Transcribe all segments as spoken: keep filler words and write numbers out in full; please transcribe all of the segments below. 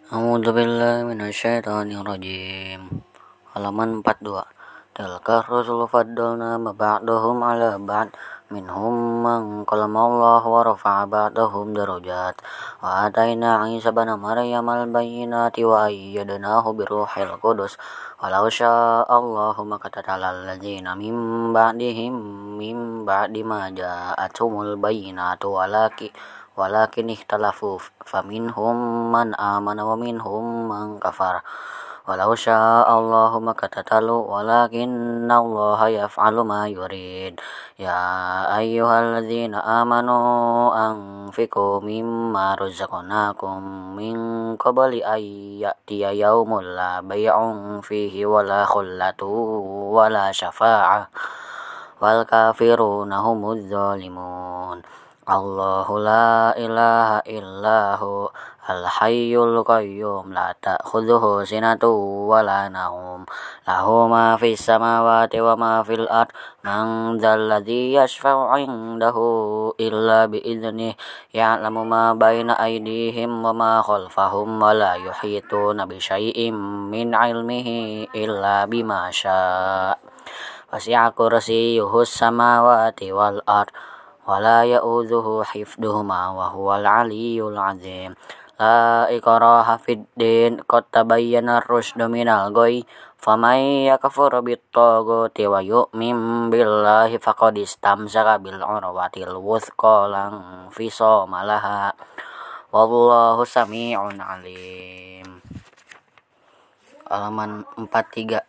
A'udzubillahi minasyaitonirrajim. Halaman empat puluh dua. Tilka rusul faddalna ba'dahum 'ala ba'd minhum man kalamallahu wa rafa'a ba'dahum darajat wa ataina 'Isa ibna Maryam al-bayyinati wa ayyadnahu biruhil qudus walau syaa Allahu maqtatalal ladzina min ba'dihim min ba'di ma ja'atuhumul bayyinatu walaki walakin ikhtalafu faminhum man amana wa minhum man kafar walau syaa Allahu maqtatalu walakinna Allaha yaf'alu ma yurid. Ya ayyuhalladzina amanu anfiqu mimma razaqnakum min qabli ay ya'tiya yaumul la bay'un fihi wala khullatu wala syafa'ah wal kafiruna humudz zalimun. Allahu la ilaha illahu al-hayyul qayyum la ta'khudhuhu sinatun wa la nawm lahu ma fis samawati wa ma fil ard man dzal ladzi yashfa'u 'indahu illa bi idznihi ya'lamu ma baina aydihim wa ma khalfahum wa la yuhituna bi syai'in min 'ilmihi illa bima syaa' wasi'a kursiyyuhus samawati wal ard wala ya'udzuhu hifdhuhuma wa huwal 'aliyyul 'azim. La ikraha fid din qad tabayyana ar-rusydu minal ghayy faman yakfur bit-taghuti wa yu'min billahi faqad istamsaka bil 'urwatil wuthqa lan fisama laha wallahu samii'un 'alim. Halaman empat puluh tiga.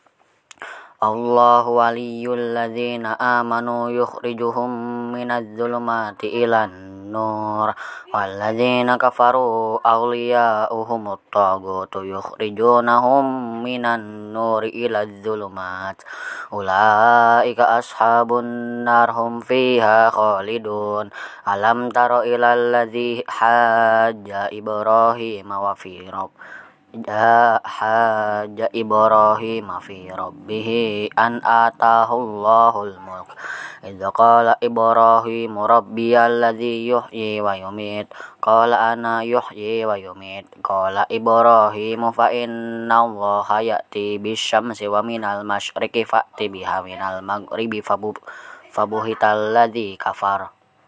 Allahu waliyyul ladzina amanu yukhrijuhum minadz zulumati ilan nur wal ladzina kafaru awliya'uhumut taghutu yukhrijunahum minan nuri ilaz zulumat ulaika ashabun nar hum fiha khalidun. Alam tara ilal ladzi hajja Ibrahim wa fi rabb haja Ibrahim fi rabbih an atahallahul mulk idza qala Ibrahim rabbiyal ladzi yuhyi wa yumit qala ana yuhyi wa yumit qala Ibrahim fa inna Allaha ya'ti bisyamsi wa minal masyriqi fa'ti biha minal maghribi fabuhital ladzi kafar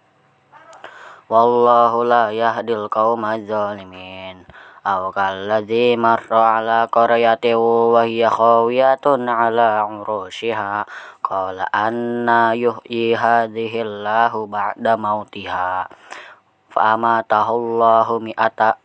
wallahu la yahdil qaumaz zalimin. Aw kalladzi marra 'ala qaryatin wa hiya khawiyatun 'ala 'urushiha qala anna yuhyi hadhihi Allahu ba'da mautiha fa amatahullahu mi'ata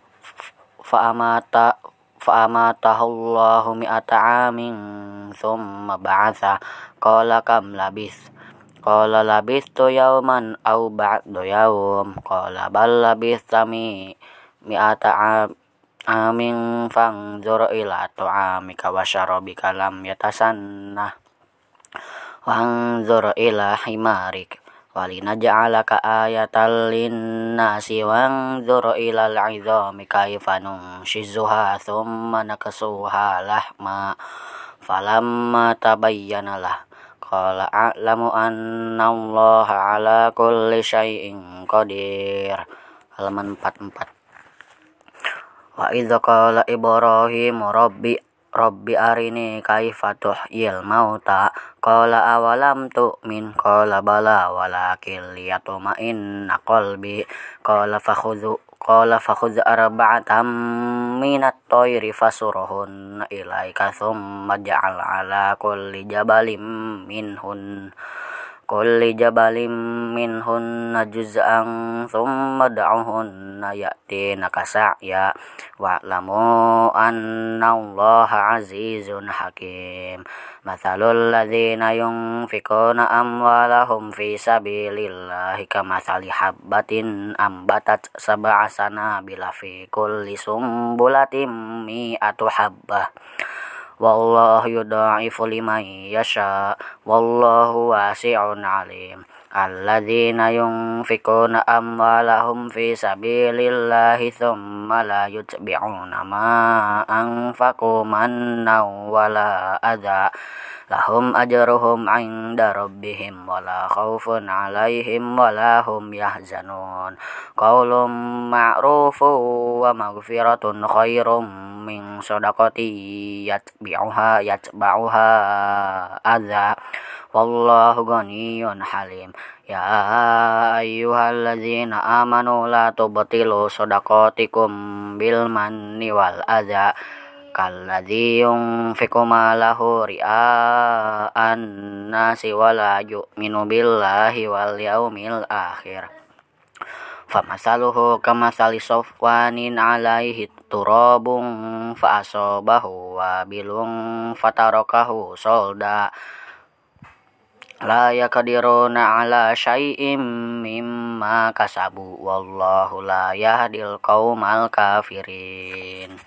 fa amata fa amatahullahu mi'ata 'amin thumma ba'atha qala kam labis qala labistu yawman aw ba'da yawm qala bal labista mi mi'ata amin fanzur ila tu'amika wa syarabika lam yatasannah wanzur ila himarik walinaj'alaka ayatan linnasi wanzur ila al'idhami kaifa nunshizuha thumma naksuha lahma falamma tabayyana lah qala a'lamu anna Allaha 'ala kulli syai'in qadir. Halaman empat puluh empat. Wa idza qala Ibrahim rabbi rabbi arini kaifa tuhyil mauta qala awalam tu'min qala bala walakin liyatma'inna qalbi qala fakhudhu qala fakhudh arba'atan minat tayri fasurhunna ilaika thumma ja'al 'ala kulli jabalin minhun kulli jabalin minhunna juz'an thumma da'uhunna ya'tinaka sa'ya wa'lamu anna Allaha 'azizun hakim. Mathalul ladzina yunfikuna amwalahum fi sabilillahi kamathali habbatin ambatat sab'a sanabila fi kulli sumbulatin mi'atu habbah wallahu yudha'ifu liman yasha wallahu wasi'un 'alim. Alladzina yunfikuna amwalahum fi sabilillahi thumma la yutbi'una ma anfaqu mannan wala adha lahum ajruhum 'inda rabbihim wala khaufun 'alaihim wala hum yahzanun. Qaulun ma'rufun wa maghfiratun khairum min shadaqati yatba'uha yatba'uha adza wallahu ghaniyyun halim. Ya ayyuhalladzina amanu la tubtilu shadaqatikum bil manni wal adza kalladzi yunfiqu malahu ria'an nasi wala yu'minu billahi wal yaumil akhir. Famasaluhu kamasali sofwanin alaihi turabun fa'asobahu wabilun fatarakahu solda la yaqdiruna ala syai'im mimma kasabu wallahu la yahdil qaumal kafirin.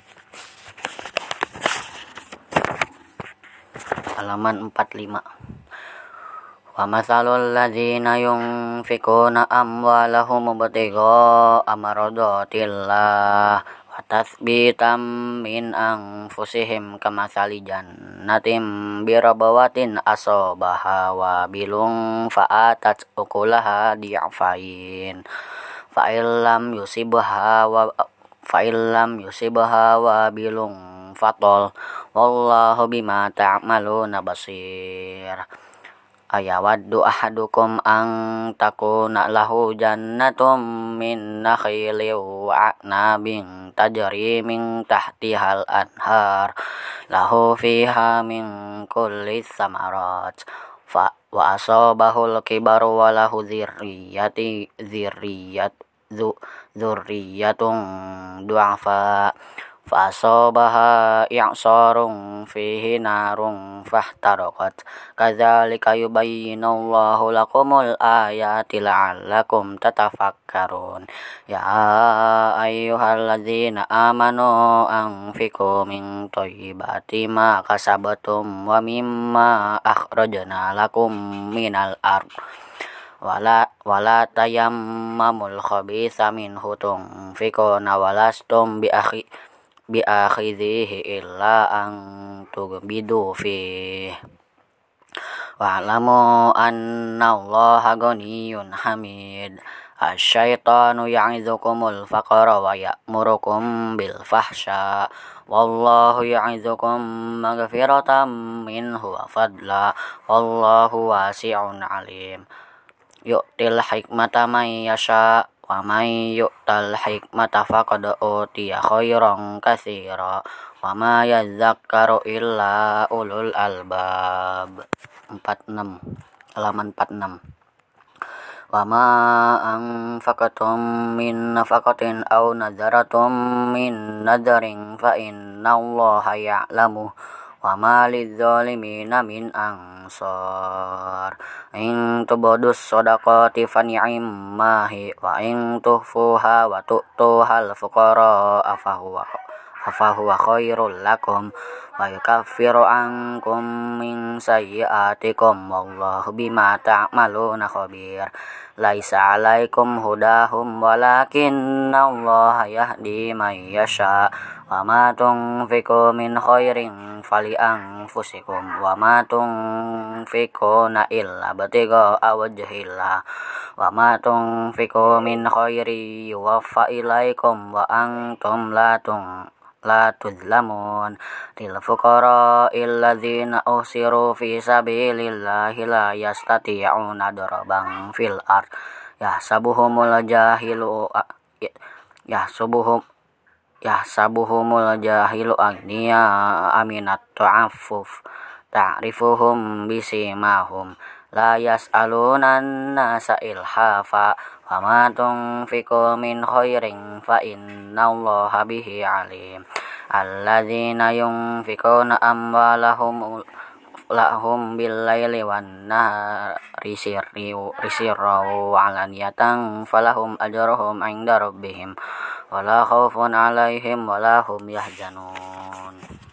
Halaman empat puluh lima. Wa matsalul ladzina yunfikuna amwalahum ibtigha'a maradatillah wa tatsbitan min anfusihim kamatsali jannatin birabawatin asabaha wabilun fa'atat ukulaha di'afain fa illam yusibha wa fa illam yusibha wabilun fatol wallahu bima ta'maluna basir. Ayawaddu ahadukum an takuna lahu jannatum min nakhilin wa a'nabin tajri min tahtihal anhar lahu fiha min kulli samarat fa wa asabahul kibaru wa lahu dzirriyati dzirriyat dzurriyatun du'afa fa'asabaha i'sarun fihi narun fahtaraqat kadzalika yubayyinullahu lakumul ayati la'allakum tatafakkarun. Ya ayyuhalladzina amanu anfiqu min thayyibati ma kasabtum wa mimma akhrajna lakum minal ardh wala wala tayammamul khabitha minhu tunfiquna walastum bi akhi bi akhidhihi illa an tughbidu fi wa'lamu annallaha ghaniyyun hamid. Asyaitanu ya'izukumul faqra wa ya'murukum bil fahsya wallahu ya'izukum maghfiratan minhu wa fadla wallahu wasi'un alim. Yu'til hikmata man yasha wa man yu'tal hikmata faqad utiya khairan katsira wa ma yadhakkaru illa ulul albab. empat puluh enam. Halaman empat puluh enam. Wa ma anfaqatum min nafaqatin aw nadharatum min nadharin fa innallaha ya'lamu wa ma lidzalimina min ansar. In tubdus shadaqati fani'immahi wa in tuhfuha wa tu'tuhal fuqara afahuwa afahuwa khairul lakum wa yukaffiru ankum min sayyi'atikum wallahu bima ta'maluna khabir. Laisa 'alaikum hudahum walakinnallaha yahdi man yasha wa ma tunfiqu min khairin fali anfusikum wa ma tunfiquna illa batigha'a wajhillah wa ma tunfiqu min khairin yuwaffa ilaikum wa antum la tun la tuzlamun. Lil fuqara'il ladzina usiru fi sabilillahi la yastati'una daraban fil ard yahsabuhumul jahilu yahsabuhum yahsabuhumul jahilu agniya aminat ta'affuf ta'rifuhum bisimahum la yas'aluna an-nasa ilhafa wa ma tunfiqu min khairin fa innallaha bihi alim. Alladzina yunfiquna amwalahum lahum bil-laili wan-nahari sirran wa 'alaniyatan falahum ajruhum 'inda rabbihim wala khaufun 'alaihim wala hum yahzanun.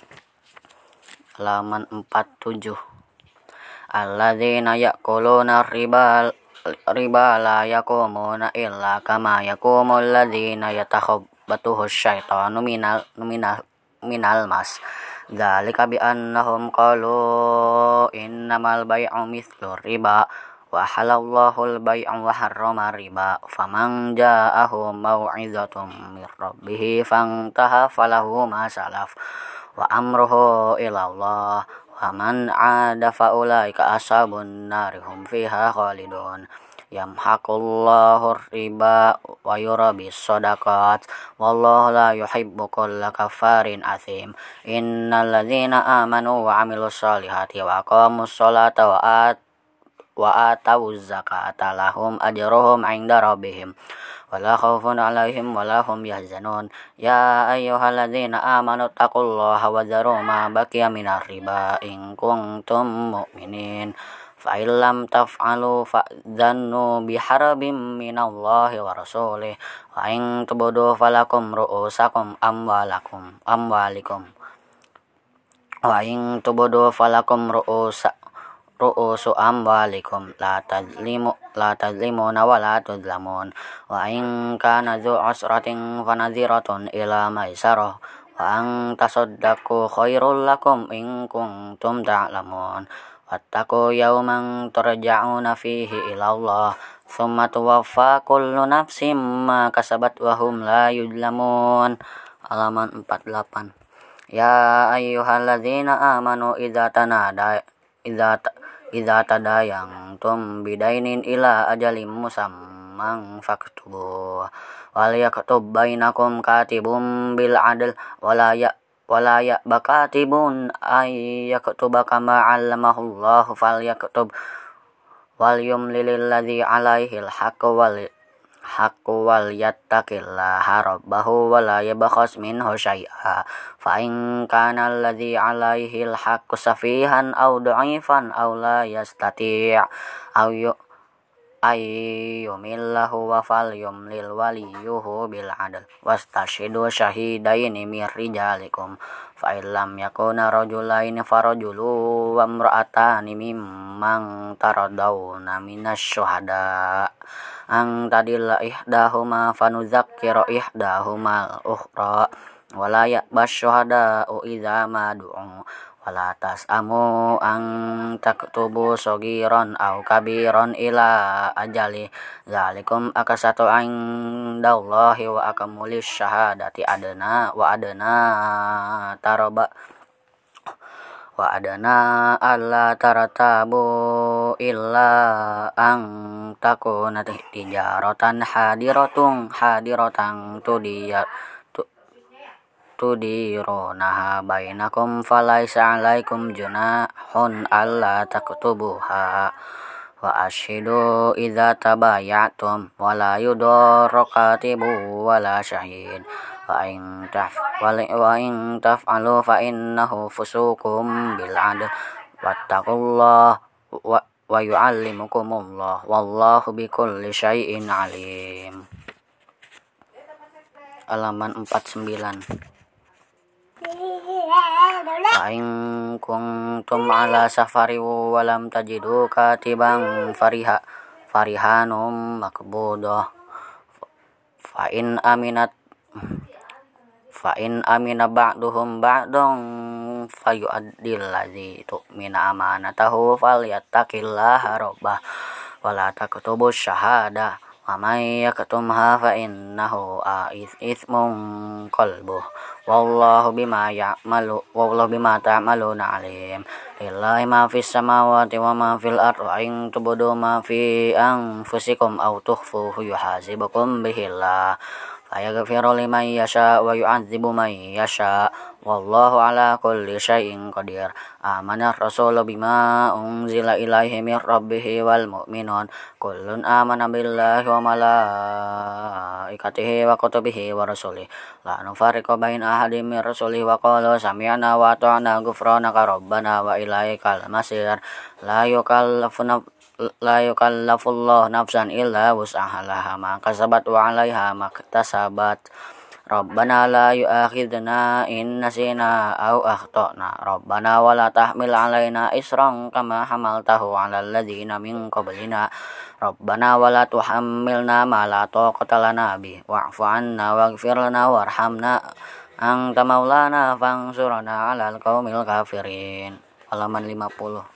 Halaman empat puluh tujuh. Alladzina ya'kuluna riba riba la yaqumuna illa kama yaqumul ladzina yatakhabbathu syaitanu minal minal minal mas Dzalika bi annahum qalu innamal bai'u mithlu riba wa halallahu al-bai'a wa harrama riba faman ja'ahu mau'izatun mir rabbih fantaha falahu ma salaf wa amruhu ila Allah wa man 'ada fa ulaika ashabun nari hum fiha khalidun. Yamhaqullahu riba wa yurabis shadaqat wallahu la yuhibbu kulla kafarin athim. Innal ladzina amanu wa 'amilus solihati wa aqamus sholata wa at wa atawuz zakata lahum ajruhum 'inda rabbihim wala khaufun 'alaihim wala hum yahzanun. Ya ayyuhalladzina amanu taqullaha wa dharu ma baqiya minar riba in kuntum mu'minin. Fa illam taf'alu fa'dhannu biharbin minallahi wa rasulih wa in tubdu falakum ru'usakum amwalakum amwalikum wa in tubdu falakum ru'usa ru'usu amwalikum la tazlimu la tazlimuna wa la tuzlamun wa in kana dzu usratin fanadhiratun ila maisarah wa an tasaddaqu khairul lakum in kuntum ta'lamun. Wattaqu yawman turja'una fihi ila Allah thumma tuwaffa kullu nafsin ma kasabat wa hum la yuzlamun. Halaman empat puluh delapan. Ya ayyuhalladzina amanu idza tanada idza idza tadayantum bidainin ila ajalim musamman faktubu wal yaktub bainakum katibum bil adl wala ya wala ya bakatibun ay yaktuba kama 'allamahullahu falyaktub wal yumlil ladzi 'alaihil haqqu wal haqqu wal yattaqillaha rabbahu wala yabkhas minhu syai'a fa in kana alladzi 'alaihil haqqu safihan aw dha'ifan aw la yastati' aw ayyumillahu wa falyumlil waliyuhu bil adl wastashidu syahidaini mir rijalikum fa illam yakuna rajulaini farajulu wa imra'atani mimman taradawna minasy syuhada ang tadilla ihdahuma fanuzakkiru ihdahumal ukhra wala ya'bas syuhada'u idza ma du'u wala tas'amu an taktubu sogiron au kabiron ila ajali zalikum akasatu indallahi wa akamulis syahadati adana wa adana taraba wa adana alla taratabu illa an takuna tijaratan hadiratun hadiratan tudiyat tudironaha bainakum falaisa 'alaikum junahun alla taktubuha wa ashidu idza tabayatum wa la yudarra katibu wa la syahid wa in taf wa in taf'alu fa innahu fusukum bil 'adl wattaqullaha wa wa yu'allimukumullah wallahu bikulli syai'in 'alim. Halaman empat puluh sembilan. Fa'in kuntum ala safari walam tajidu katiban fariha farihanum makbudah fa'in aminat fa'in amina ba'duhum ba'dun fayu'addil ladzi tu'mina amanatahu falyattaqillaha rabbah wala taktubu syahada wa may yaktumha fa innahu ithmun qalbuh wallahu bima ya'malu wallahu bima ta'maluna alim. Lillahi ma fis samawati wa ma fil ardi wa in tubdu ma fi anfusikum aw tukhfuhu yuhasibukum bihillah fayaghfiru liman yasha wa yu'adzibu man yasha wallahu ala kulli syai'in qadir. Amana rasulu bima unzila ilaihi mir rabbih wal mu'minun kullun amana billahi wa malaikatihi wa kutubihi wa rusulihi la nufarriqu baina ahadin mir rusulihi wa qalu sami'na wa ata'na ghufranaka rabbana wa ilaikal masir. La yukallafu la yukallafullahu nafsan illa wus'aha ma kasabat wa 'alaiha maktasabat. Rabbana la yu'akhidna in nasina aw akhtana Rabbana wa la tahmil 'alaina isran kama hamaltahu 'alal ladzina min qablina Rabbana wa la tuhammilna ma la taqata lana bih wa'fu 'anna waghfir lana warhamna anta maulana fansurna 'alal qaumil kafirin. Halaman lima puluh.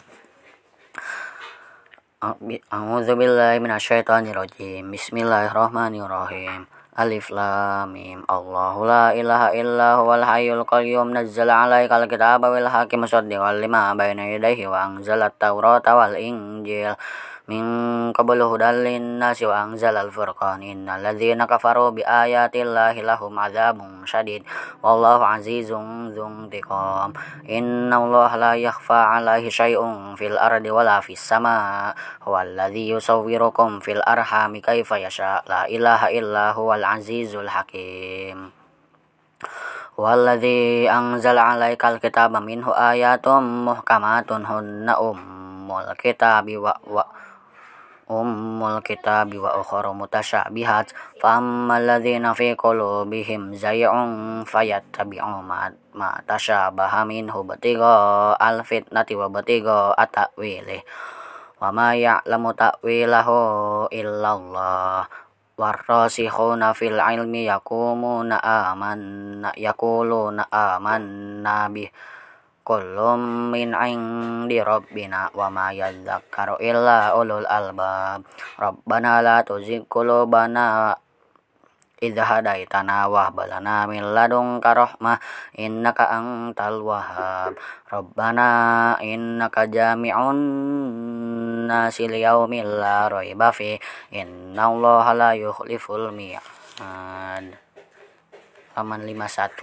A'udzu billahi minasyaitonir rajim. Bismillahirrahmanirrahim. Alif lam mim. Allahu la ilaha illa huwal hayyul qayyum nazzala 'alaikal kitaba bil haqqi musaddiqan lima baina yadayhi wa anzalat taurata wal injil min qablu hudal linnasi wa anzalal furqan innal ladzina kafaru bi ayatillahi lahum adzabun syadid wallahu azizun dzuntiqam. Innallaha la yakhfa 'alaihi syai'un fil ardi wala fis sama' huwal ladzi yusawwirukum fil arhami kaifa yasha la ilaha illa huwal azizul hakim. Walladzi anzala 'alaikal kitaba minhu ayatum muhkamatun hunna ummul kitabi wa wa ummul kitabi wa ukhra mutasyabihat fa ammal ladzina fi qulubihim zay'un fayattabi'u ma ma tasyabaha minhu ibtigha al fitnati wa ibtigha at-ta'wilih wa ma ya'lamu ta'wilahu illallah warrasikhuna fil ilmi yaqumuna amanna yaquluna amanna bih kullum min 'indi rabbina wa ma yadhakkaru illa ulul albab. Rabbana la tuzigh qulubana idh hadaitana wa hab lana min ladunka rahmah innaka antal wahhab. Rabbana innaka jami'un nasi liyaumil la raiba fi innallaha la yukhliful mi'ad. Halaman lima puluh satu.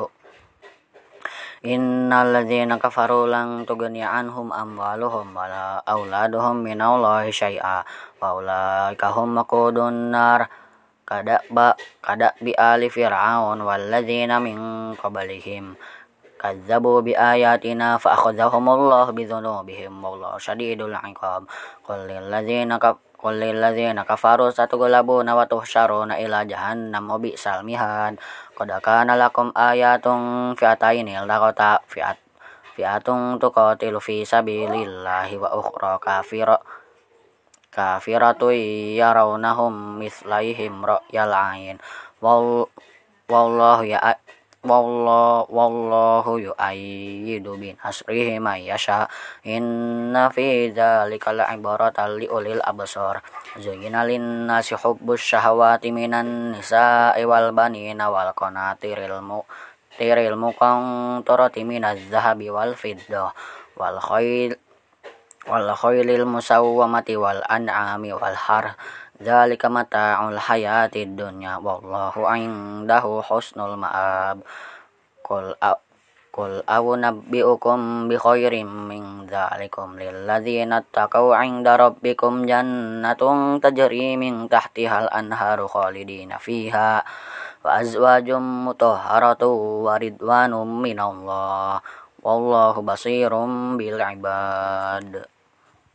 Innal ladzina kafaru lan tughni anhum amwaluhum wala auladuhum minallahi syai'a wa ulaika hum waqudun nar kada ba kada bi ali fir'aun wal ladzina min qablihim kazzabu bi ayatina fa akhadhahumullahu bi dzunubihim wallahu syadidul 'iqab. Qul lil ladzina qul lil ladzina kafaru satughlabuna wa tuhsyaruna ila jahannam wa bi'sal mihad. Qad kana lakum ayatun fi'ataini iltaqata fi'at fi'atun tuqatilu fi sabilillahi wa ukhra kafira kafiratu yarawnahum mislaihim ra'yal 'ain wallahu ya wallahu wallahu yu'ayyidu bin nasrihi may yasha inna fi dzalika la'ibratan liulil absar. Zuyyina lin-nasi hubbus syahawati minan nisa'i wal banina wal qanatiril muqtiril muqantarati minaz zahabi wal fiddah wal khayl wal khaylil musawwamati wal an'ami wal har dzalika mata'ul hayatid dunya wallahu 'indahu husnul ma'ab. Qul qul a'unabbi'ukum bi khairim min dzalikum lil ladzina taqaw 'inda rabbikum jannatun tajri min tahtihal anharu khalidina fiha wa azwajum mutahharatu wa ridwanum minallah wallahu basirum bil ibad.